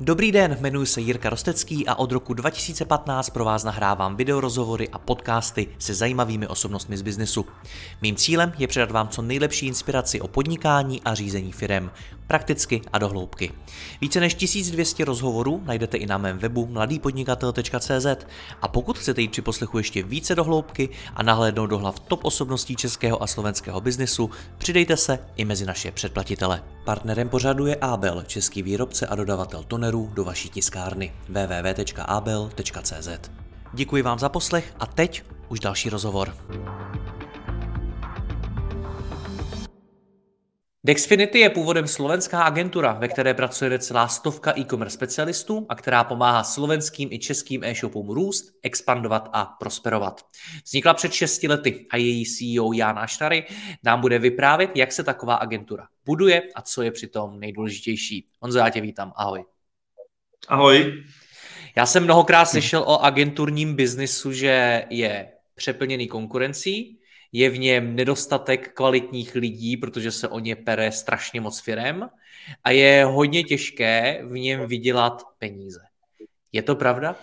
Dobrý den, jmenuji se Jirka Rostecký a od roku 2015 pro vás nahrávám videorozhovory a podcasty se zajímavými osobnostmi z biznesu. Mým cílem je předat vám co nejlepší inspiraci o podnikání a řízení firem, prakticky a do hloubky. Více než 1200 rozhovorů najdete i na mém webu mladýpodnikatel.cz a pokud chcete jít při poslechu ještě více do hloubky a nahlédnout do hlav top osobností českého a slovenského biznesu, přidejte se i mezi naše předplatitele. Partnerem pořadu je Abel, český výrobce a dodavatel tonerů do vaší tiskárny www.abel.cz. Děkuji vám za poslech a teď už další rozhovor. Dexfinity je původem slovenská agentura, ve které pracuje celá stovka e-commerce specialistů a která pomáhá slovenským i českým e-shopům růst, expandovat a prosperovat. Vznikla před 6 lety a její CEO Jan Aštary nám bude vyprávět, jak se taková agentura buduje a co je přitom nejdůležitější. Honzo, já tě vítám, ahoj. Ahoj. Já jsem mnohokrát slyšel o agenturním biznisu, že je přeplněný konkurencí, je v něm nedostatek kvalitních lidí, protože se o ně pere strašně moc firem a je hodně těžké v něm vydělat peníze. Je to pravda?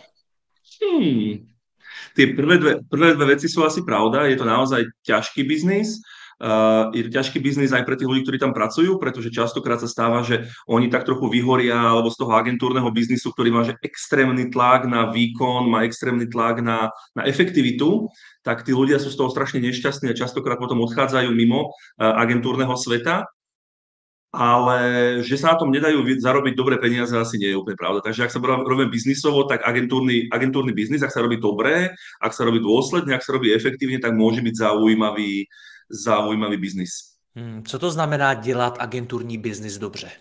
Tie prvé dve veci sú asi pravda. Je to naozaj ťažký biznis. Je to ťažký biznis aj pre tých ľudí, ktorí tam pracujú, pretože častokrát sa stáva, že oni tak trochu vyhoria alebo z toho agentúrneho biznisu, ktorý má že extrémny tlak na výkon, má extrémny tlak na efektivitu, tak tí ľudia sú z toho strašne nešťastní a častokrát potom odchádzajú mimo agentúrneho sveta. Ale že sa na tom nedajú zarobiť dobré peniaze, asi nie je úplne pravda. Takže ak sa robíme biznisovo, tak agentúrny biznis, ak sa robí dobre, ak sa robí dôsledne, ak sa robí efektívne, tak môže byť zaujímavý biznis. Co to znamená dělat agenturní biznis dobře?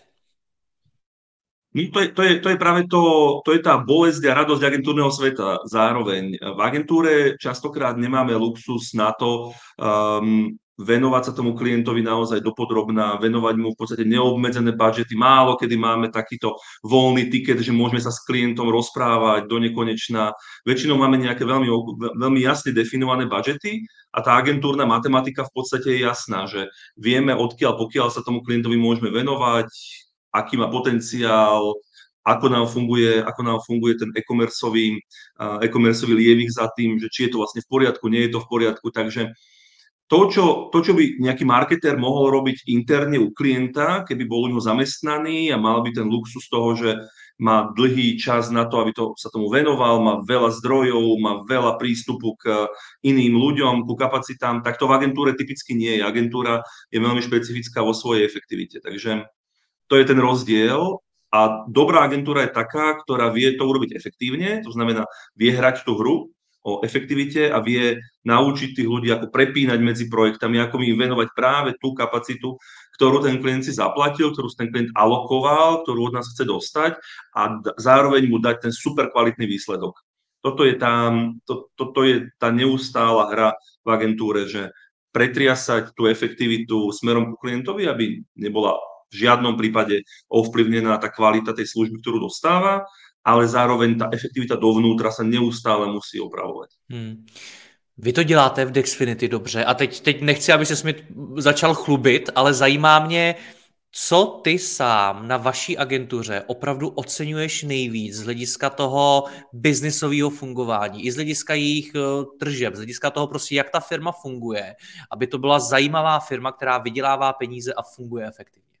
To je práve to je tá bolesť a radosť agentúrneho sveta zároveň. V agentúre častokrát nemáme luxus na to venovať sa tomu klientovi naozaj dopodrobná, venovať mu v podstate neobmedzené budžety. Málo kedy máme takýto voľný tiket, že môžeme sa s klientom rozprávať do nekonečna. Väčšinou máme nejaké veľmi jasne definované budžety a tá agentúrna matematika v podstate je jasná, že vieme odkiaľ pokiaľ sa tomu klientovi môžeme venovať, aký má potenciál, ako nám funguje ten e-commerceový lievik za tým, že či je to vlastne v poriadku, nie je to v poriadku. Takže to, čo by nejaký marketér mohol robiť interne u klienta, keby bol u neho zamestnaný a mal by ten luxus toho, že má dlhý čas na to, aby sa tomu venoval, má veľa zdrojov, má veľa prístupu k iným ľuďom, ku kapacitám, tak to v agentúre typicky nie je. Agentúra je veľmi špecifická vo svojej efektivite. Takže to je ten rozdiel. A dobrá agentúra je taká, ktorá vie to urobiť efektívne, to znamená, vie hrať tú hru o efektivite a vie naučiť tých ľudí, ako prepínať medzi projektami, ako im venovať práve tú kapacitu, ktorú ten klient si zaplatil, ktorú si ten klient alokoval, ktorú od nás chce dostať a zároveň mu dať ten super kvalitný výsledok. Toto je tá neustála hra v agentúre, že pretriasať tú efektivitu smerom ku klientovi, aby nebola v žiadnom prípade ovplyvnená tá kvalita tej služby, ktorú dostáva, ale zároveň ta efektivita dovnútra se neustále musí opravovat. Vy to děláte v Dexfinity dobře a teď nechci, aby se mi začal chlubit, ale zajímá mě, co ty sám na vaší agentuře opravdu oceňuješ nejvíc z hlediska toho biznisového fungování, i z hlediska jejich tržeb, z hlediska toho prostě, jak ta firma funguje, aby to byla zajímavá firma, která vydělává peníze a funguje efektivně.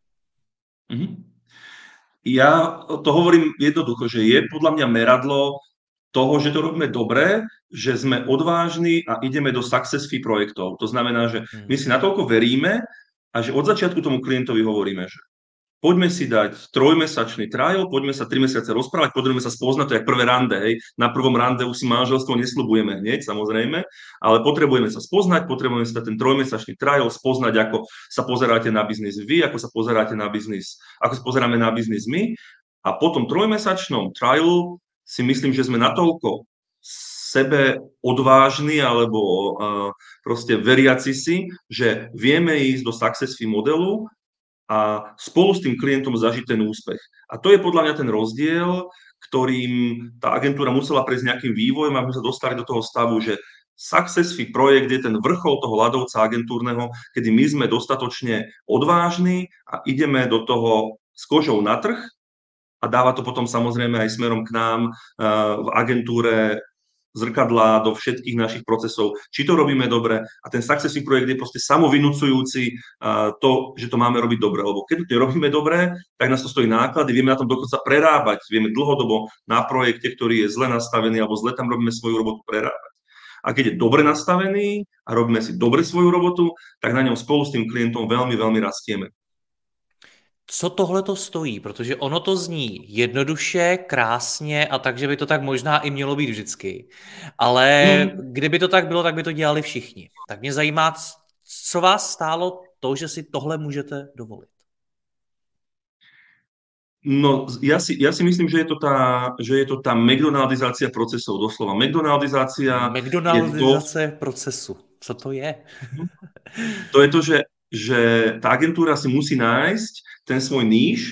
Ja to hovorím jednoducho, že je podľa mňa meradlo toho, že to robíme dobre, že sme odvážni a ideme do success fee projektov. To znamená, že my si natoľko veríme a že od začiatku tomu klientovi hovoríme, že poďme si dať 3-mesačný trial, poďme sa 3 mesiace rozprávať, poďme sa spoznať, to je jak prvé rande, hej. Na prvom rande už si manželstvo nesľubujeme hneď, samozrejme, ale potrebujeme sa spoznať, potrebujeme si dať ten 3-mesačný trial, spoznať, ako sa pozeráte na biznis vy, ako sa pozeráte na biznis, ako sa pozeráme na biznis my. A po tom 3-mesačnom trialu si myslím, že sme natoľko sebe odvážni alebo proste veriaci si, že vieme ísť do success fee modelu a spolu s tým klientom zažiť ten úspech. A to je podľa mňa ten rozdiel, ktorým tá agentúra musela prejsť nejakým vývojom, aby sme sa dostali do toho stavu, že success fee projekt je ten vrchol toho ľadovca agentúrneho, kedy my sme dostatočne odvážni a ideme do toho s kožou na trh a dáva to potom samozrejme aj smerom k nám v agentúre zrkadlá do všetkých našich procesov, či to robíme dobre a ten successful projekt je proste samovinúcujúci to, že to máme robiť dobre, lebo keď to robíme dobre, tak nás to stojí náklady, vieme na tom dokonca prerábať, vieme dlhodobo na projekte, ktorý je zle nastavený alebo zle tam robíme svoju robotu prerábať. A keď je dobre nastavený a robíme si dobre svoju robotu, tak na ňom spolu s tým klientom veľmi, veľmi rastieme. Co tohle to stojí? Protože ono to zní jednoduše, krásně a takže by to tak možná i mělo být vždycky. Ale kdyby to tak bylo, tak by to dělali všichni. Tak mě zajímá, co vás stálo to, že si tohle můžete dovolit. No, ja si myslím, že je to tá McDonaldizácia procesov, doslova. McDonaldizácia McDonaldizace procesu. Co to je? To je to, že tá agentúra si musí nájsť ten svoj níž,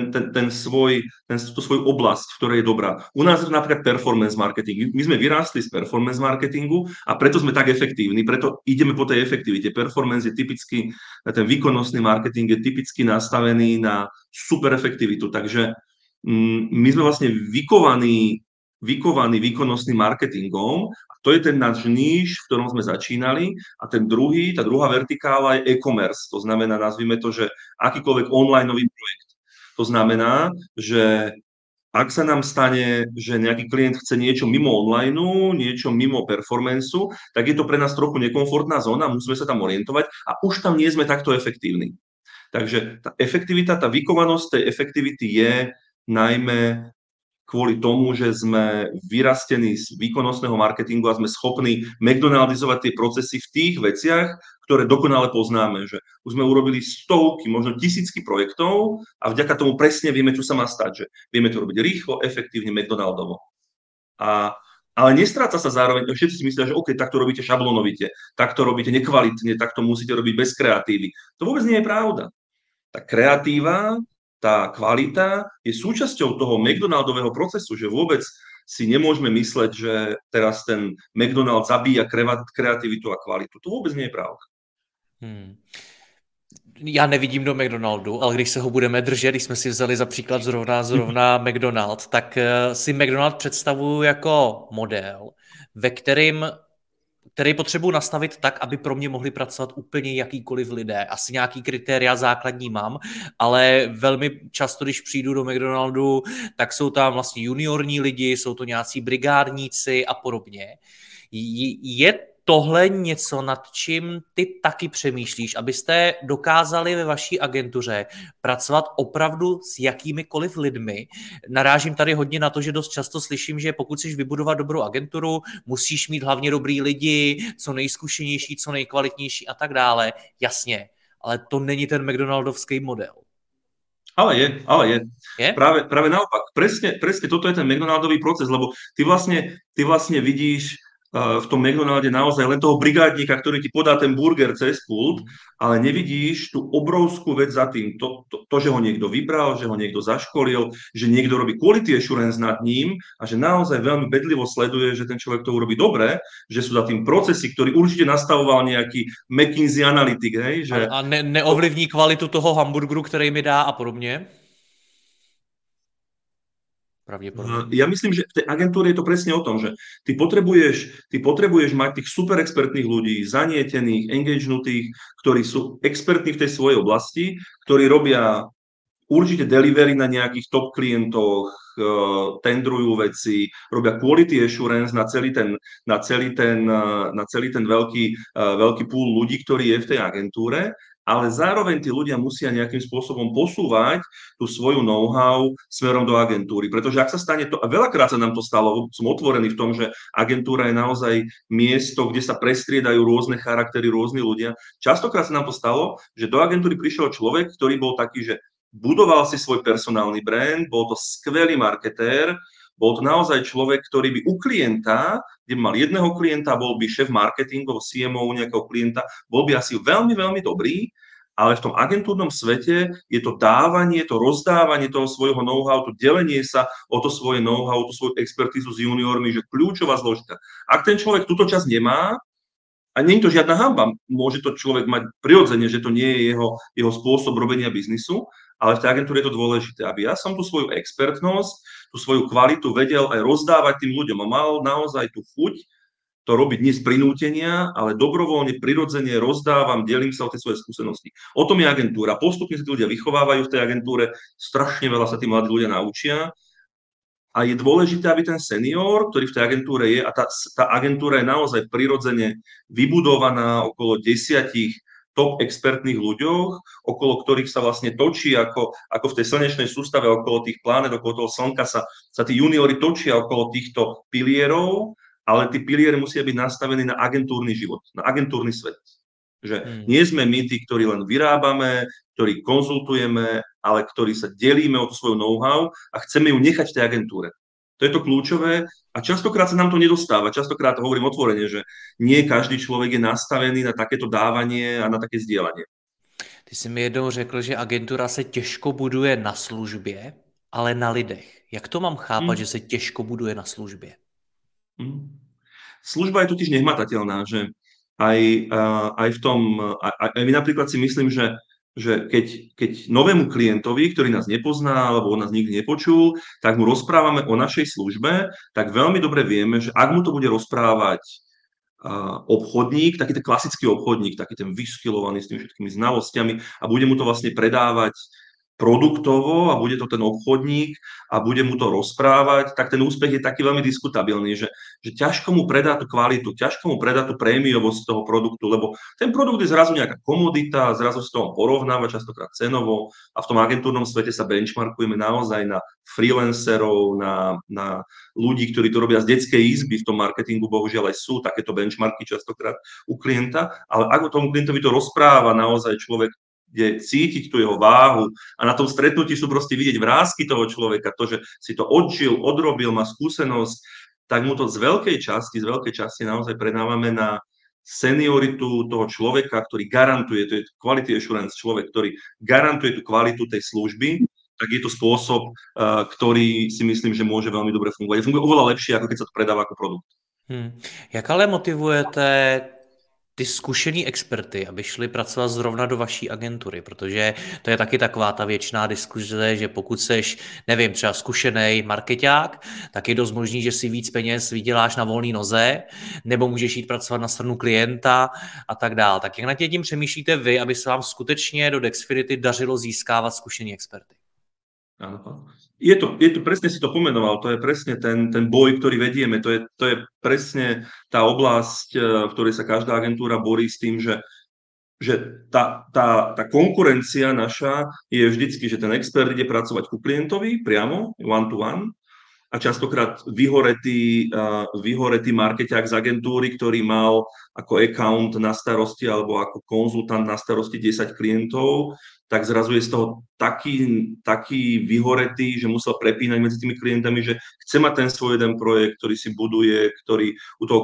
tú svoju oblasť, v ktorej je dobrá. U nás je to napríklad performance marketing. My sme vyrástli z performance marketingu a preto sme tak efektívni, preto ideme po tej efektivite. Performance je typicky, ten výkonnostný marketing je typicky nastavený na super efektivitu, takže my sme vlastne vykovaní výkonnostným marketingom a to je ten náš níž, v ktorom sme začínali a tá druhá vertikála je e-commerce, to znamená, nazvime to, že akýkoľvek onlineový projekt. To znamená, že ak sa nám stane, že nejaký klient chce niečo mimo online, niečo mimo performanceu, tak je to pre nás trochu nekomfortná zóna, musíme sa tam orientovať a už tam nie sme takto efektívni. Takže tá efektivita, tá vykovanosť tej efektivity je najmä kvôli tomu, že sme vyrastení z výkonnostného marketingu a sme schopní McDonaldizovať tie procesy v tých veciach, ktoré dokonale poznáme. Že už sme urobili stovky, možno tisícky projektov a vďaka tomu presne vieme, čo sa má stať. Že vieme to robiť rýchlo, efektívne, McDonaldovo. Ale nestráca sa zároveň, všetci si myslia, že OK, tak to robíte šablonovite, tak to robíte nekvalitne, tak to musíte robiť bez kreatívy. To vôbec nie je pravda. Tá kreatíva, tá kvalita je súčasťou toho McDonaldového procesu, že vôbec si nemôžeme mysleť, že teraz ten McDonald zabíja kreativitu a kvalitu. To vôbec nie je pravda. Já nevidím do McDonaldu, ale když se ho budeme držet, když jsme si vzali za příklad zrovna McDonald, tak si McDonald představuju jako model, který potřebuji nastavit tak, aby pro mě mohli pracovat úplně jakýkoliv lidé. Asi nějaký kritéria základní mám, ale velmi často, když přijdu do McDonaldu, tak jsou tam vlastně juniorní lidi, jsou to nějací brigádníci a podobně. Je tohle něco, nad čím ty taky přemýšlíš, abyste dokázali ve vaší agentuře pracovat opravdu s jakýmikoliv lidmi? Narážím tady hodně na to, že dost často slyším, že pokud chceš vybudovat dobrou agenturu, musíš mít hlavně dobrý lidi, co nejzkušenější, co nejkvalitnější a tak dále. Jasně, ale to není ten McDonaldovský model. Ale je. Práve naopak. Presne toto je ten McDonaldový proces, lebo ty vlastne vidíš v tom McDonalde naozaj len toho brigádníka, ktorý ti podá ten burger cez pult, ale nevidíš tú obrovskú vec za tým. To, že ho niekto vybral, že ho niekto zaškolil, že niekto robí quality assurance nad ním a že naozaj veľmi bedlivo sleduje, že ten človek to urobí dobre, že sú za tým procesy, ktorý určite nastavoval nejaký McKinsey analytik. Hej, že... A neovlivní kvalitu toho hamburgeru, který mi dá a podobně? Ja myslím, že v tej agentúre je to presne o tom, že ty potrebuješ mať tých super expertných ľudí, zanietených, engagenutých, ktorí sú expertní v tej svojej oblasti, ktorí robia určite delivery na nejakých top klientoch, tendrujú veci, robia quality assurance na celý ten veľký pool ľudí, ktorý je v tej agentúre, ale zároveň tí ľudia musia nejakým spôsobom posúvať tú svoju know-how smerom do agentúry. Pretože ak sa stane to, a veľakrát sa nám to stalo, som otvorený v tom, že agentúra je naozaj miesto, kde sa prestriedajú rôzne charaktery, rôzni ľudia. Častokrát sa nám to stalo, že do agentúry prišiel človek, ktorý bol taký, že budoval si svoj personálny brand, bol to skvelý marketér, bol to naozaj človek, ktorý by u klienta, kde by mal jedného klienta, bol by šéf marketingov, CMO u nejakého klienta, bol by asi veľmi, veľmi dobrý, ale v tom agentúrnom svete je to dávanie, to rozdávanie toho svojho know-how, to delenie sa o to svoje know-how, o tú svoju expertízu s juniormi, že kľúčová zložka. Ak ten človek túto časť nemá, a nie je to žiadna hanba, môže to človek mať prirodzene, že to nie je jeho spôsob robenia biznisu, ale v tej agentúre je to dôležité, aby ja som tú svoju expertnosť, tú svoju kvalitu vedel aj rozdávať tým ľuďom a mal naozaj tú chuť to robiť nie z prinútenia, ale dobrovoľne, prirodzene rozdávam, delím sa o tie svoje skúsenosti. O tom je agentúra. Postupne sa tí ľudia vychovávajú v tej agentúre, strašne veľa sa tí mladí ľudia naučia a je dôležité, aby ten senior, ktorý v tej agentúre je, a tá agentúra je naozaj prirodzene vybudovaná okolo 10 top expertných ľuďoch, okolo ktorých sa vlastne točí, ako v tej slnečnej sústave, okolo tých planet, okolo toho slnka sa tí juniori točia okolo týchto pilierov, ale tí piliere musia byť nastavení na agentúrny život, na agentúrny svet. Že nie sme my tí, ktorí len vyrábame, ktorí konzultujeme, ale ktorí sa delíme o tú svoju know-how a chceme ju nechať v tej agentúre. To je to kľúčové a častokrát sa nám to nedostáva. Častokrát hovorím otvorene, že nie každý človek je nastavený na takéto dávanie a na také zdieľanie. Ty jsi mi jednou řekl, že agentura se těžko buduje na službě, ale na lidech. Jak to mám chápat, že se těžko buduje na službě? Služba je totiž nehmatateľná, že aj v tom, aj my napríklad si myslím, že keď novému klientovi, ktorý nás nepozná alebo on nás nikdy nepočul, tak mu rozprávame o našej službe, tak veľmi dobre vieme, že ak mu to bude rozprávať obchodník, taký ten klasický obchodník, taký ten vyskilovaný s tými všetkými znalosťami a bude mu to vlastne predávať produktovo a bude to ten obchodník a bude mu to rozprávať, tak ten úspech je taký veľmi diskutabilný, že ťažko mu predá tú kvalitu, ťažko mu predá tú prémiovosť toho produktu, lebo ten produkt je zrazu nejaká komodita, zrazu s toho porovnáva častokrát cenovo a v tom agentúrnom svete sa benchmarkujeme naozaj na freelancerov, na ľudí, ktorí to robia z detskej izby, v tom marketingu bohužiaľ aj sú takéto benchmarky častokrát u klienta, ale ako tomu klientovi to rozpráva naozaj človek, kde cítiť tú jeho váhu a na tom stretnutí sú proste vidieť vrásky toho človeka, to, že si to odžil, odrobil, má skúsenosť, tak mu to z veľkej časti naozaj predávame na senioritu toho človeka, ktorý garantuje, to je quality assurance človek, ktorý garantuje tú kvalitu tej služby, tak je to spôsob, ktorý si myslím, že môže veľmi dobre fungovať. Funguje oveľa lepšie, ako keď sa to predáva ako produkt. Jak ale motivujete ty zkušený experty, aby šli pracovat zrovna do vaší agentury, protože to je taky taková ta věčná diskuze, že pokud seš, nevím, třeba zkušený markeťák, tak je dost možný, že si víc peněz vyděláš na volné noze, nebo můžeš jít pracovat na stranu klienta a tak dál. Tak jak nad tím přemýšlíte vy, aby se vám skutečně do Dexfinity dařilo získávat zkušený experty? Áno. Je to presne si to pomenoval, to je presne ten boj, ktorý vedieme, to je presne tá oblasť, v ktorej sa každá agentúra borí s tým, že tá konkurencia naša je vždycky, že ten expert ide pracovať ku klientovi priamo, one to one, a častokrát vyhoretý markeťák z agentúry, ktorý mal ako account na starosti alebo ako konzultant na starosti 10 klientov, tak zrazu je z toho taký vyhoretý, že musel prepínať medzi tými klientami, že chce mať ten svoj jeden projekt, ktorý si buduje, ktorý u toho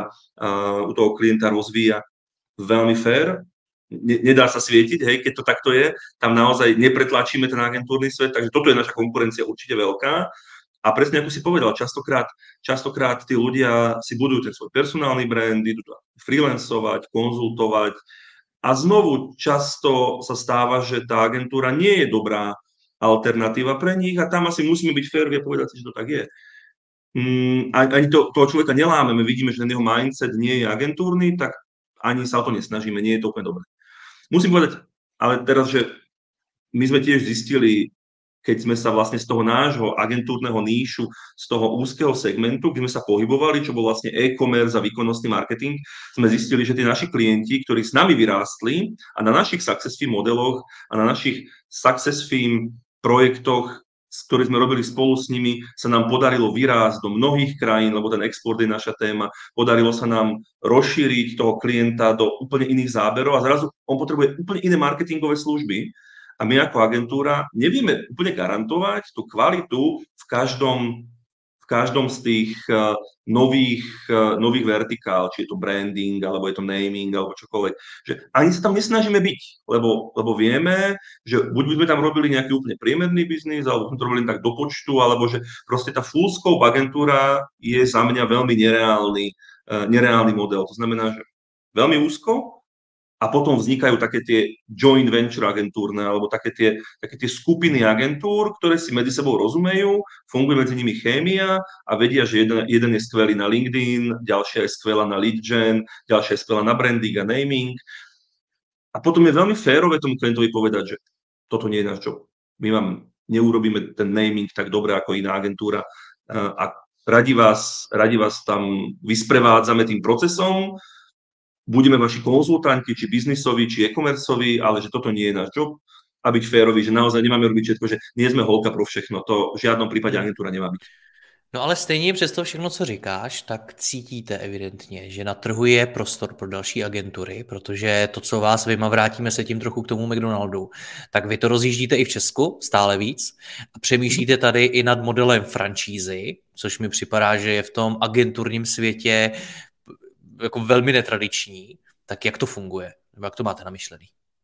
klienta rozvíja. Veľmi fair, nedá sa svietiť, hej, keď to takto je, tam naozaj nepretlačíme ten agentúrny svet, takže toto je naša konkurencia určite veľká. A presne ako si povedal, častokrát tí ľudia si budujú ten svoj personálny brand, idú to freelancovať, konzultovať a znovu často sa stáva, že tá agentúra nie je dobrá alternatíva pre nich a tam asi musíme byť férovi a povedať si, že to tak je. Ani toho človeka nelámeme, vidíme, že ten jeho mindset nie je agentúrny, tak ani sa o to nesnažíme, nie je to úplne dobré. Musím povedať, ale teraz, že my sme tiež zistili, keď sme sa vlastne z toho nášho agentúrneho níšu, z toho úzkeho segmentu, kde sme sa pohybovali, čo bol vlastne e-commerce a výkonnostný marketing, sme zistili, že tí naši klienti, ktorí s nami vyrástli a na našich success fee modeloch a na našich success fee projektoch, ktoré sme robili spolu s nimi, sa nám podarilo vyrásť do mnohých krajín, lebo ten export je naša téma, podarilo sa nám rozšíriť toho klienta do úplne iných záberov a zrazu on potrebuje úplne iné marketingové služby. A my ako agentúra nevieme úplne garantovať tú kvalitu v každom z tých nových vertikál, či je to branding, alebo je to naming, alebo čokoľvek. Že ani sa tam nesnažíme byť, lebo vieme, že buď by sme tam robili nejaký úplne priemerný biznis, alebo sme to robili tak do počtu, alebo že proste tá full scope agentúra je za mňa veľmi nereálny model. To znamená, že veľmi úzko, a potom vznikajú také tie joint venture agentúrne, alebo také tie skupiny agentúr, ktoré si medzi sebou rozumejú, funguje medzi nimi chémia a vedia, že jeden je skvelý na LinkedIn, ďalšia je skvelá na lead gen, ďalšia je skvelá na branding a naming. A potom je veľmi férové tomu klientovi povedať, že toto nie je náš job. My vám neurobíme ten naming tak dobre ako iná agentúra a radi vás tam vysprevádzame tým procesom, budeme vaši konzultanti, či biznisoví, či e-commerceoví, ale že toto nie je náš job a byť férový, že naozaj nemáme robiť všetko, že nie sme holka pro všechno, to v žiadnom prípade agentúra nemá byť. No ale stejně přes to všechno, co říkáš, tak cítíte evidentně, že na trhu je prostor pro další agentury, protože to, co vás vyjma, vrátíme se tím trochu k tomu McDonaldu, tak vy to rozjíždíte i v Česku stále víc a přemýšlíte tady i nad modelem franšízy, což mi připadá, že je v tom agenturním světě jako velmi netradiční. Tak jak to funguje? Nebo jak to máte namyšlený?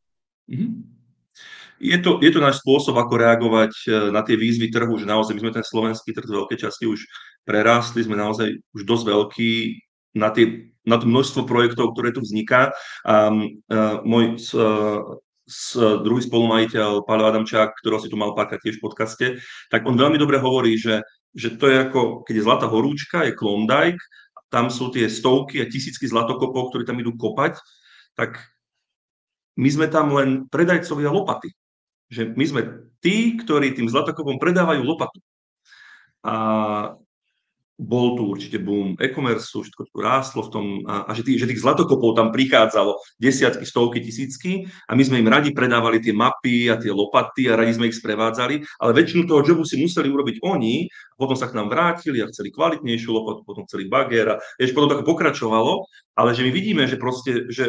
Je to náš spôsob, ako reagovať na tie výzvy trhu, že naozaj my sme ten slovenský trh z veľkej časti už prerástli, sme naozaj už dosť veľký na to množstvo projektov, ktoré tu vzniká. Môj druhý spolumajiteľ, Paľo Adamčák, ktorého si tu mal párkrát tiež v podcaste, tak on veľmi dobre hovorí, že to je ako, keď je zlatá horúčka, je Klondike, tam sú tie stovky a tisícky zlatokopov, ktorí tam idú kopať, tak my sme tam len predajcovia lopaty. Že my sme tí, ktorí tým zlatokopom predávajú lopatu. A bol tu určite boom e-commerce, všetko tu rástlo v tom, a že tých zlatokopov tam prichádzalo desiatky, stovky, tisícky a my sme im radi predávali tie mapy a tie lopaty a radi sme ich sprevádzali, ale väčšinu toho jobu si museli urobiť oni a potom sa k nám vrátili a chceli kvalitnejšiu lopatu, potom chceli bager a potom tak pokračovalo, ale že my vidíme, že proste, že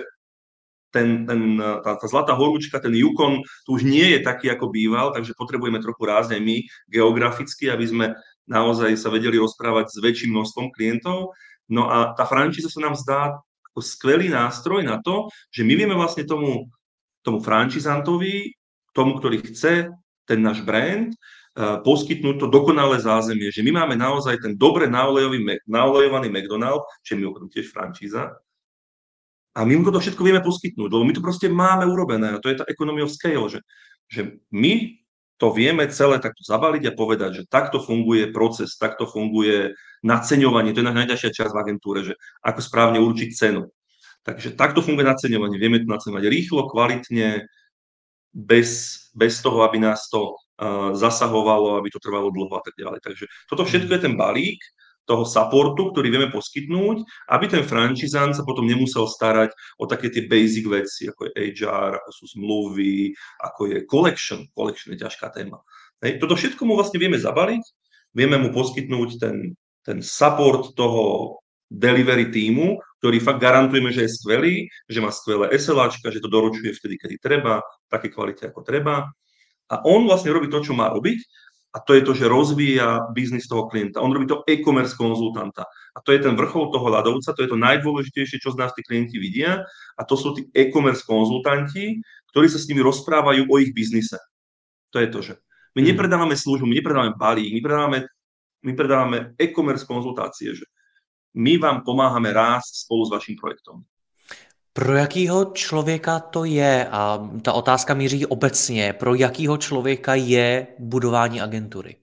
tá zlatá horúčka, ten Yukon, tu už nie je taký, ako býval, takže potrebujeme trochu rásť aj my geograficky, aby sme naozaj sa vedeli rozprávať s väčším množstvom klientov. No a tá franšíza sa nám zdá ako skvelý nástroj na to, že my vieme vlastne tomu franšizantovi, tomu, ktorý chce ten náš brand, poskytnúť to dokonalé zázemie, že my máme naozaj ten dobre naolejovaný McDonald, čo je mimochodom tiež franšíza, a my mu to všetko vieme poskytnúť, lebo my to proste máme urobené a to je tá economy of scale, že my to vieme celé takto zabaliť a povedať, že takto funguje proces, takto funguje naceňovanie, to je najťažšia časť v agentúre, že ako správne určiť cenu. Takže takto funguje naceňovanie, vieme to naceňovať rýchlo, kvalitne, bez toho, aby nás to zasahovalo, aby to trvalo dlho a tak ďalej. Takže toto všetko je ten balík toho supportu, ktorý vieme poskytnúť, aby ten franchizant sa potom nemusel starať o také tie basic veci, ako je HR, ako sú zmluvy, ako je collection. Collection je ťažká téma. Toto všetko mu vlastne vieme zabaliť, vieme mu poskytnúť ten support toho delivery týmu, ktorý fakt garantujeme, že je skvelý, že má skvelé SLAčka, že to doručuje vtedy, kedy treba, v takej kvalite, ako treba. A on vlastne robí to, čo má robiť, a to je to, že rozvíja biznis toho klienta. On robí to e-commerce konzultanta. A to je ten vrchol toho ľadovca, to je to najdôležitejšie, čo z nás tí klienti vidia. A to sú tí e-commerce konzultanti, ktorí sa s nimi rozprávajú o ich biznise. To je to, že my nepredávame službu, my nepredávame balík, my predávame e-commerce konzultácie, že my vám pomáhame rásť spolu s vaším projektom. Pro jakýho člověka to je? A ta otázka míří obecně. Pro jakýho člověka je budování agentury?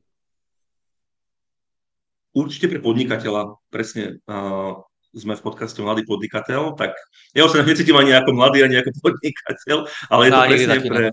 Určite pre podnikateľa. Presne sme v podcaste Mladý podnikateľ, tak ja už sa necítim ani ako mladý, ani ako podnikateľ, ale je to presne pre...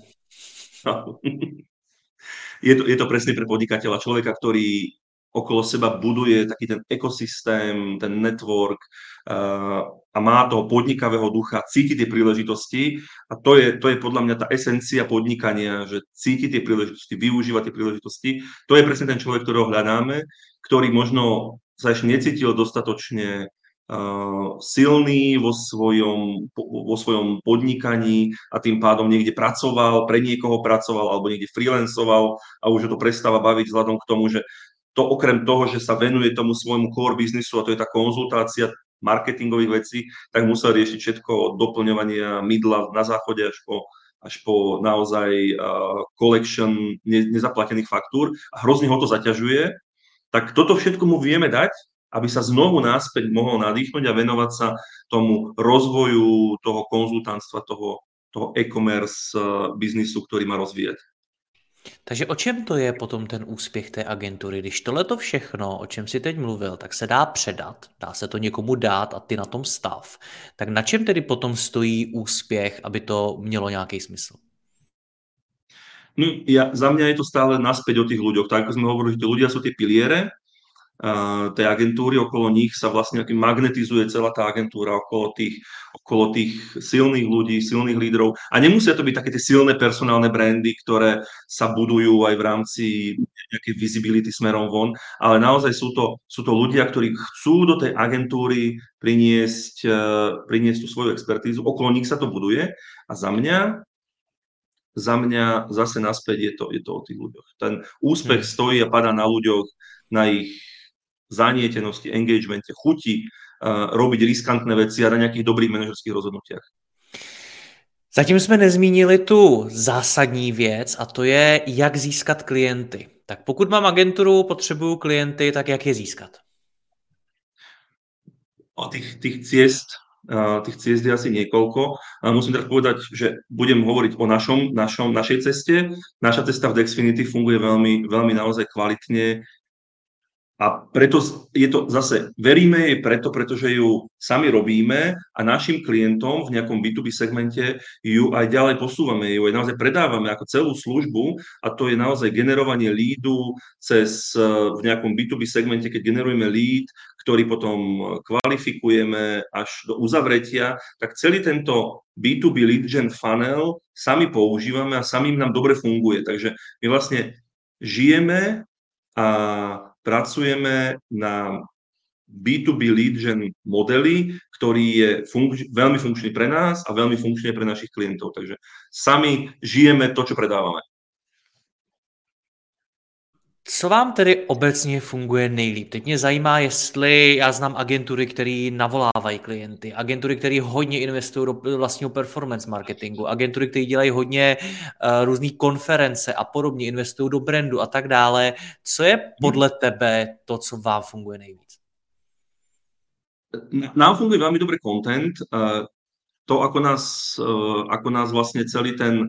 Je to presne pre podnikateľa, človeka, ktorý okolo seba buduje taký ten ekosystém, ten network a má toho podnikavého ducha, cíti tie príležitosti a to je podľa mňa tá esencia podnikania, že cíti tie príležitosti, využíva tie príležitosti. To je presne ten človek, ktorého hľadáme, ktorý možno sa ešte necítil dostatočne silný vo svojom podnikaní a tým pádom niekde pracoval, pre niekoho pracoval alebo niekde freelancoval a už ho to prestáva baviť vzhľadom k tomu, že to okrem toho, že sa venuje tomu svojmu core biznisu a to je tá konzultácia marketingových vecí, tak musel riešiť všetko od doplňovania mydla na záchode až po naozaj collection nezaplatených faktúr a hrozne ho to zaťažuje. Tak toto všetko mu vieme dať aby sa znovu naspäť mohol nadýchnuť a venovať sa tomu rozvoju toho konzultantstva, toho e-commerce biznisu, ktorý má rozvíjať. Takže o čem to je potom ten úspěch té agentury? Když tohleto všechno, o čem si teď mluvil, tak se dá předat, dá se to někomu dát a ty na tom stav, tak na čem tedy potom stojí úspěch, aby to mělo nějaký smysl? No, za mňa je to stále naspäť o tých ľuďoch. Tak ako sme hovorili, že tí ľudia sú tie piliere tej agentúry, okolo nich sa vlastne magnetizuje celá tá agentúra okolo tých silných ľudí, silných lídrov. A nemusia to byť také tie silné personálne brandy, ktoré sa budujú aj v rámci nejakej visibility smerom von, ale naozaj sú to ľudia, ktorí chcú do tej agentúry priniesť tú svoju expertízu, okolo nich sa to buduje a za mňa zase naspäť je to o tých ľuďoch. Ten úspech stojí a padá na ľuďoch, na ich zanietenosti, engagemente, chuti robiť riskantné veci a na nejakých dobrých manažerských rozhodnutiach. Zatím jsme nezmínili tu zásadní věc a to je, jak získat klienty. Tak pokud mám agenturu, potřebuju klienty, tak jak je získat? O tých ciest je asi niekoľko. Musím teraz povedať, že budem hovoriť o našej ceste. Naša cesta v Dexfinity funguje veľmi, veľmi naozaj kvalitne. A preto je to zase, veríme jej pretože ju sami robíme a našim klientom v nejakom B2B segmente ju aj ďalej posúvame, ju aj naozaj predávame ako celú službu a to je naozaj generovanie leadu v nejakom B2B segmente, keď generujeme lead, ktorý potom kvalifikujeme až do uzavretia, tak celý tento B2B lead gen funnel sami používame a samým nám dobre funguje. Takže my vlastne žijeme a pracujeme na B2B lead gen modeli, ktorý je veľmi funkčný pre nás a veľmi funkčný pre našich klientov. Takže sami žijeme to, čo predávame. Co vám tedy obecně funguje nejlíp? Teď mě zajímá, jestli já znám agentury, které navolávají klienty, agentury, které hodně investují do vlastního performance marketingu, agentury, které dělají hodně různých konference a podobně, investují do brandu a tak dále. Co je podle tebe to, co vám funguje nejvíc? Nám funguje veľmi dobre content. To, ako nás vlastne celý ten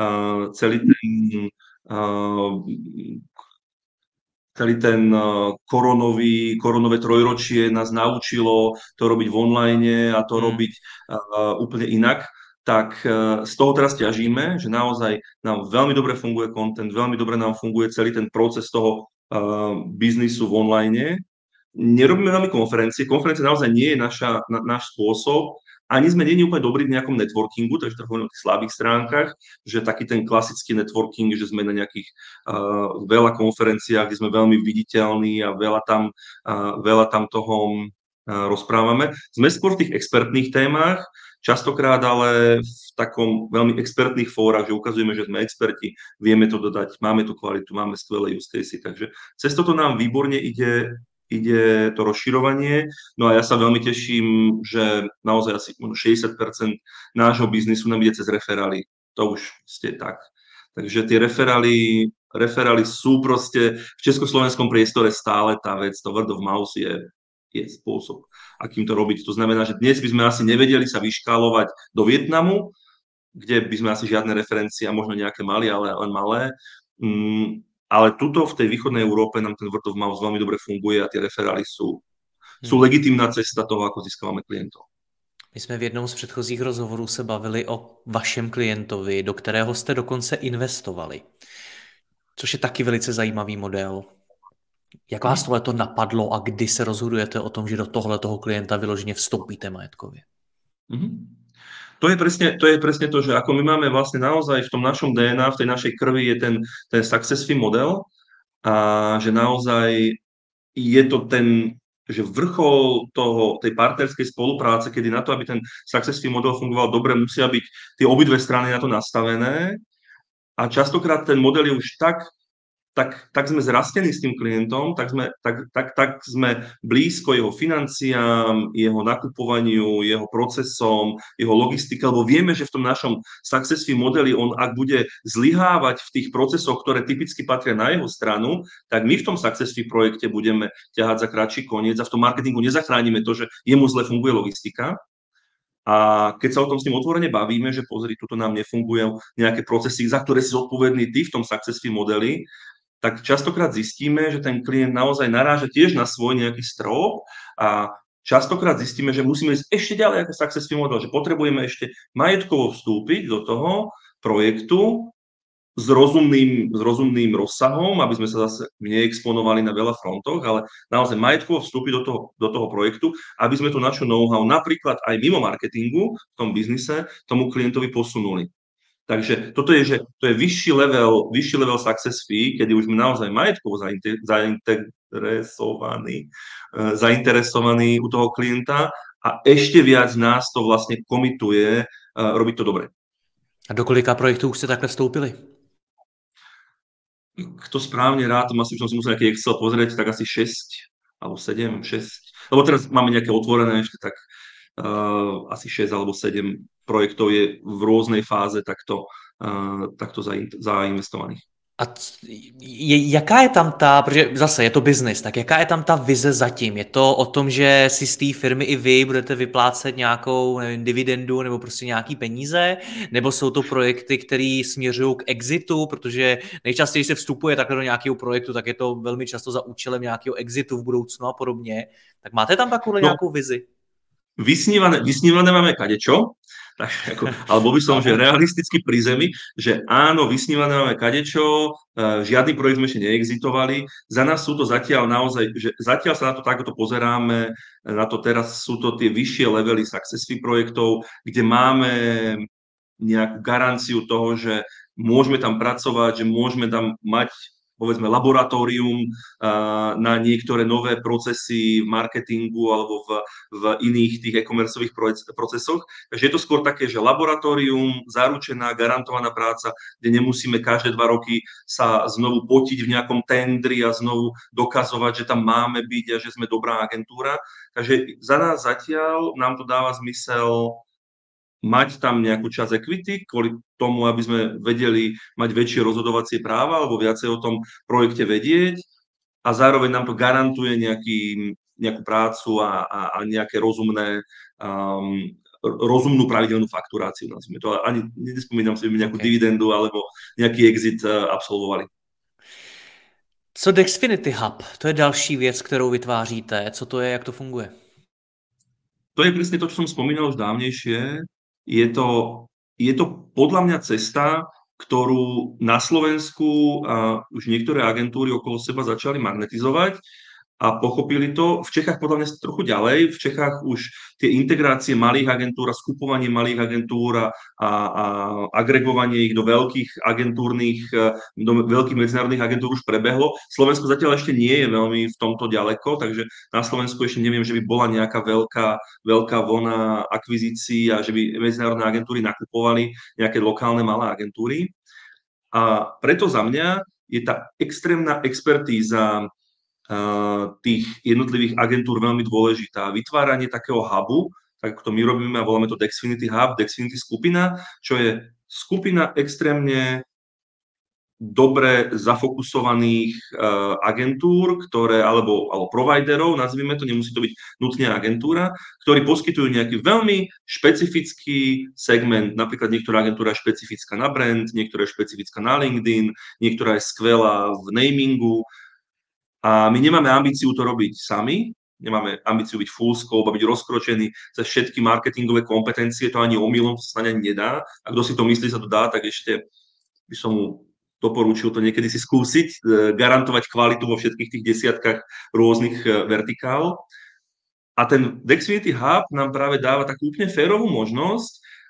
koronové trojročie nás naučilo to robiť v online a to robiť úplne inak, tak z toho teraz ťažíme, že naozaj nám veľmi dobre funguje content, veľmi dobre nám funguje celý ten proces toho biznisu v online. Nerobíme veľmi konferencie naozaj nie je náš spôsob, ani sme nie úplne dobrí v nejakom networkingu, takže to hovorím o tých slabých stránkach, že taký ten klasický networking, že sme na nejakých veľa konferenciách, kde sme veľmi viditeľní a veľa tam toho rozprávame. Sme skôr v tých expertných témach, častokrát ale v takom veľmi expertných fórach, že ukazujeme, že sme experti, vieme to dodať, máme tú kvalitu, máme skvelé use casey, takže cez toto nám výborne ide to rozširovanie. No a ja sa veľmi teším, že naozaj asi 60% nášho biznisu nám ide cez referály. To už ste tak. Takže tie referály sú proste v československom priestore stále tá vec, to word of mouth je spôsob, akým to robiť. To znamená, že dnes by sme asi nevedeli sa vyškálovať do Vietnamu, kde by sme asi žiadne referencie a možno nejaké mali, ale len malé. Ale tuto v tej východnej Európe nám ten word of mouth veľmi dobre funguje a tie referály sú legitímna cesta toho, ako získávame klientov. My jsme v jednom z předchozích rozhovorů se bavili o vašem klientovi, do kterého jste dokonce investovali. Což je taky velice zajímavý model. Jak vás tohleto napadlo a kdy se rozhodujete o tom, že do tohletoho klienta vyloženě vstoupíte majetkově? To je presne to, že ako my máme vlastne naozaj v tom našom DNA, v tej našej krvi je ten success fee model a že naozaj je to že vrchol tej partnerskej spolupráce, kedy na to, aby ten success fee model fungoval dobre, musia byť tie obidve strany na to nastavené a častokrát ten model je už tak tak sme zrastení s tým klientom, tak sme blízko jeho financiám, jeho nakupovaniu, jeho procesom, jeho logistike, lebo vieme, že v tom našom success fee modeli on, ak bude zlyhávať v tých procesoch, ktoré typicky patria na jeho stranu, tak my v tom success fee projekte budeme ťahať za kratší koniec a v tom marketingu nezachránime to, že jemu zle funguje logistika. A keď sa o tom s ním otvorene bavíme, že pozri, tuto nám nefungujú nejaké procesy, za ktoré si zodpovedný ty v tom success fee modeli, tak častokrát zistíme, že ten klient naozaj naráža tiež na svoj nejaký strop a častokrát zistíme, že musíme ísť ešte ďalej ako success fee model, že potrebujeme ešte majetkovo vstúpiť do toho projektu s rozumným rozsahom, aby sme sa zase neexponovali na veľa frontoch, ale naozaj majetkovo vstúpiť do toho projektu, aby sme tu našu know-how napríklad aj mimo marketingu v tom biznise tomu klientovi posunuli. Takže toto je, že to je vyšší level success fee, kedy už sme naozaj majetkovo zainteresovaní u toho klienta a ešte viac nás to vlastne komituje robiť to dobre. A do kolika projektů už ste takhle vstoupili? Kto správne rád, asi by som si musel nejaký Excel pozrieť, tak asi 6 alebo 7, 6. Lebo teraz máme nejaké otvorené ešte, tak asi 6 alebo 7 projektov je v rôznej fáze takto zainvestovaných. A jaká je tam protože zase je to biznis, tak jaká je tam ta vize zatím? Je to o tom, že si z té firmy i vy budete vyplácet nějakou, nevím, dividendu nebo prostě nějaký peníze? Nebo jsou to projekty, které směřují k exitu? Protože nejčastěji, když se vstupuje takhle do nějakého projektu, tak je to velmi často za účelem nějakého exitu v budoucnu a podobně. Tak máte tam takovou nějakou vizi? Vysnívané máme kadečo, tak ako, ale bol by som, že realisticky pri zemi, že áno, vysnívané máme kadečo, žiadny projekt sme ešte neexitovali. Za nás sú to zatiaľ naozaj, že zatiaľ sa na to takto pozeráme, na to teraz sú to tie vyššie levely success fee projektov, kde máme nejakú garanciu toho, že môžeme tam pracovať, že môžeme tam mať povedzme laboratórium na niektoré nové procesy v marketingu alebo v iných tých e-commerceových procesoch. Takže je to skôr také, že laboratórium, zaručená, garantovaná práca, kde nemusíme každé 2 roky sa znovu potiť v nejakom tendri a znovu dokazovať, že tam máme byť a že sme dobrá agentúra. Takže za nás zatiaľ nám to dáva zmysel mať tam nejakú časť equity, kvôli tomu, aby sme vedeli mať väčšie rozhodovacie práva alebo viacej o tom projekte vedieť a zároveň nám to garantuje nejakú prácu a nejaké rozumnú pravidelnú fakturáciu. Nazvime to. Ani nespomínam si, nejakú dividendu alebo nejaký exit absolvovali. Co Dexfinity Hub? To je další věc, kterou vytváříte. Co to je, jak to funguje? To je presne to, čo som spomínal už dávnejšie. Je to podľa mňa cesta, ktorú na Slovensku už niektoré agentúry okolo seba začali magnetizovať a pochopili to. V Čechách podľa mňa trochu ďalej. V Čechách už tie integrácie malých agentúr a skupovanie malých agentúr a agregovanie ich do veľkých agentúrnych, do veľkých medzinárodných agentúr už prebehlo. Slovensko zatiaľ ešte nie je veľmi v tomto ďaleko, takže na Slovensku ešte neviem, že by bola nejaká veľká vlna akvizícií a že by medzinárodné agentúry nakupovali nejaké lokálne malé agentúry. A preto za mňa je tá extrémna expertíza tých jednotlivých agentúr veľmi dôležitá. Vytváranie takého hubu, tak ako to my robíme a voláme to Dexfinity Hub, Dexfinity skupina, čo je skupina extrémne dobre zafokusovaných agentúr, alebo providerov, nazvime to, nemusí to byť nutne agentúra, ktorí poskytujú nejaký veľmi špecifický segment. Napríklad niektorá agentúra je špecifická na brand, niektorá je špecifická na LinkedIn, niektorá je skvelá v namingu. A my nemáme ambíciu to robiť sami, nemáme ambíciu byť full scope a byť rozkročený cez všetky marketingové kompetencie, to ani omylom sa snáď ani nedá. A kto si to myslí, sa to dá, tak ešte by som mu doporučil to niekedy si skúsiť, garantovať kvalitu vo všetkých tých desiatkách rôznych vertikál. A ten Dexfinity Hub nám práve dáva takú úplne férovú možnosť,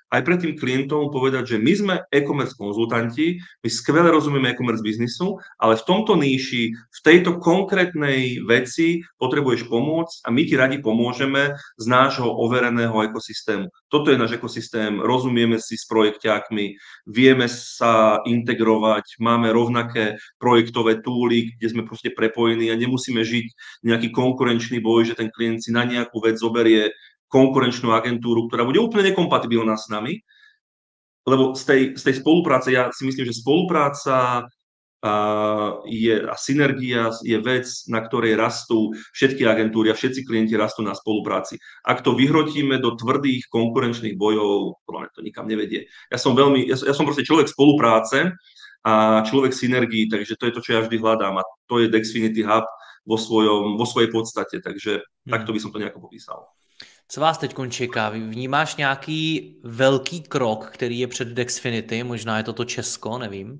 aj pred tým klientom povedať, že my sme e-commerce konzultanti, my skvele rozumieme e-commerce biznisu, ale v tomto níši, v tejto konkrétnej veci potrebuješ pomôcť a my ti radi pomôžeme z nášho overeného ekosystému. Toto je náš ekosystém, rozumieme si s projekťákmi, vieme sa integrovať, máme rovnaké projektové túly, kde sme proste prepojení a nemusíme žiť nejaký konkurenčný boj, že ten klient si na nejakú vec zoberie konkurenčnú agentúru, ktorá bude úplne nekompatibilná s nami, lebo z tej spolupráce, ja si myslím, že spolupráca a synergia je vec, na ktorej rastú všetky agentúry a všetci klienti rastú na spolupráci. Ak to vyhrotíme do tvrdých konkurenčných bojov, podľa mňa to nikam nevedie. Ja som proste človek spolupráce a človek synergii, takže to je to, čo ja vždy hľadám a to je Dexfinity Hub vo svojej podstate, takže takto by som to nejako popísal. Co vás teď čeká? Vnímáš nějaký velký krok, který je před Dexfinity? Možná je to Česko, nevím.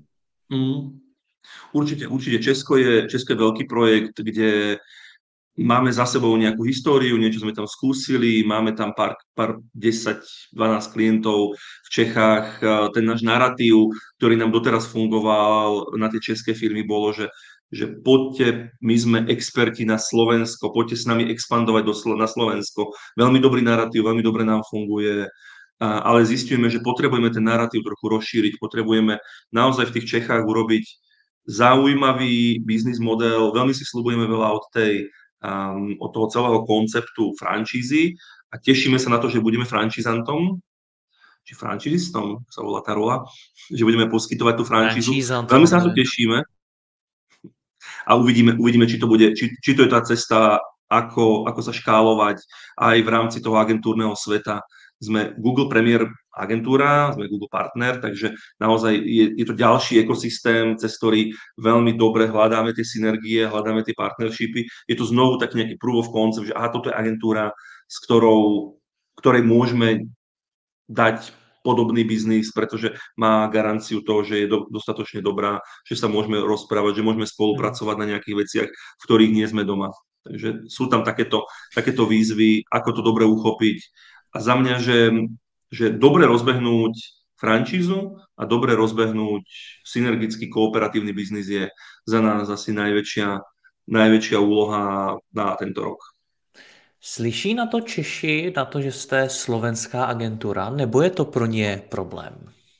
Určite. Česko je veľký projekt, kde máme za sebou nejakú históriu, niečo sme tam skúsili, máme tam pár 10-12 klientov v Čechách. Ten náš narratív, ktorý nám doteraz fungoval na tie české firmy, bolo, že poďte, my sme experti na Slovensko, poďte s nami expandovať na Slovensko. Veľmi dobrý narratív, veľmi dobre nám funguje, ale zistujeme, že potrebujeme ten narratív trochu rozšíriť, potrebujeme naozaj v tých Čechách urobiť zaujímavý biznis model, veľmi si sľubujeme veľa od toho celého konceptu franšízy a tešíme sa na to, že budeme franšízantom, či franšízistom sa volá tá rola, že budeme poskytovať tú franšízu. Veľmi sa na to tešíme. A uvidíme, či to je tá cesta, ako sa škálovať aj v rámci toho agentúrneho sveta. Sme Google Premier agentúra, sme Google partner, takže naozaj je to ďalší ekosystém, cez ktorý veľmi dobre hľadáme tie synergie, hľadáme tie partnershipy. Je to znovu taký nejaký proof of concept, že toto je agentúra, ktorej môžeme dať podobný biznis, pretože má garanciu toho, že je dostatočne dobrá, že sa môžeme rozprávať, že môžeme spolupracovať na nejakých veciach, v ktorých nie sme doma. Takže sú tam takéto výzvy, ako to dobre uchopiť. A za mňa, že dobre rozbehnúť franšízu a dobre rozbehnúť synergický kooperatívny biznis je za nás asi najväčšia úloha na tento rok. Slyší na to Češi, na to, že jste slovenská agentura, nebo je to pro ně problém?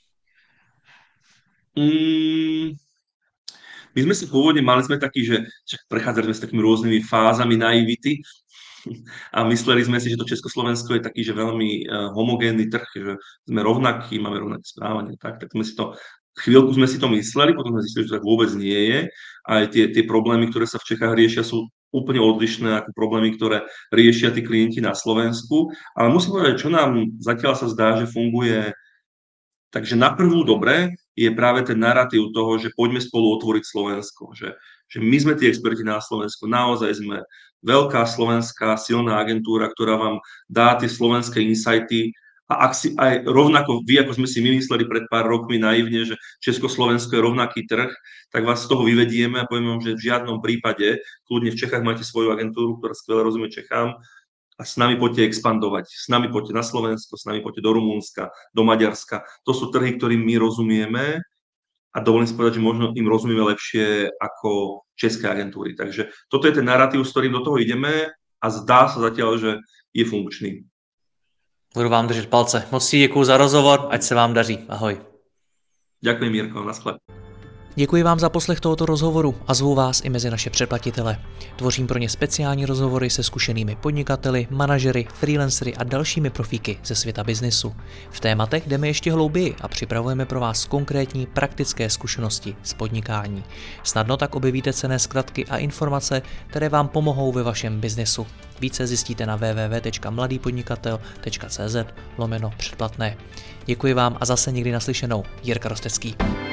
My sme si pôvodne mali taký, že prechádzali sme s takými rôznymi fázami naivity a mysleli sme si, že to Československo je taký, že veľmi homogénny trh, že sme rovnakí, máme rovnaké správanie, tak chvíľku sme si to mysleli, potom sme zistili, že tak vôbec nie je. Aj tie problémy, ktoré sa v Čechách riešia, sú úplne odlišné ako problémy, ktoré riešia tí klienti na Slovensku. Ale musím povedať, čo nám zatiaľ sa zdá, že funguje. Takže na prvú dobre je práve ten narratív toho, že poďme spolu otvoriť Slovensko. Že my sme tí experti na Slovensku. Naozaj sme veľká slovenská silná agentúra, ktorá vám dá tie slovenské insighty. A ak si aj rovnako vy, ako sme si my mysleli pred pár rokmi naivne, že Československo je rovnaký trh, tak vás z toho vyvedieme a povieme vám, že v žiadnom prípade, kľudne v Čechách máte svoju agentúru, ktorá skvele rozumie Čechám a s nami poďte expandovať, s nami poďte na Slovensko, s nami poďte do Rumunska, do Maďarska. To sú trhy, ktorým my rozumieme a dovolím si povedať, že možno im rozumieme lepšie ako české agentúry. Takže toto je ten narratív, s ktorým do toho ideme a zdá sa zatiaľ, že je funkčný. Budu vám držet palce. Moc si děkuju za rozhovor, ať se vám daří. Ahoj. Ďakujem, Mirko, naschle. Děkuji vám za poslech tohoto rozhovoru a zvu vás i mezi naše předplatitele. Tvořím pro ně speciální rozhovory se zkušenými podnikateli, manažery, freelancery a dalšími profíky ze světa biznesu. V tématech jdeme ještě hlouběji a připravujeme pro vás konkrétní praktické zkušenosti z podnikání. Snadno tak objevíte cenné zkratky a informace, které vám pomohou ve vašem biznesu. Více zjistíte na www.mladýpodnikatel.cz/předplatné. Děkuji vám a zase někdy naslyšenou. Jirka Rostecký.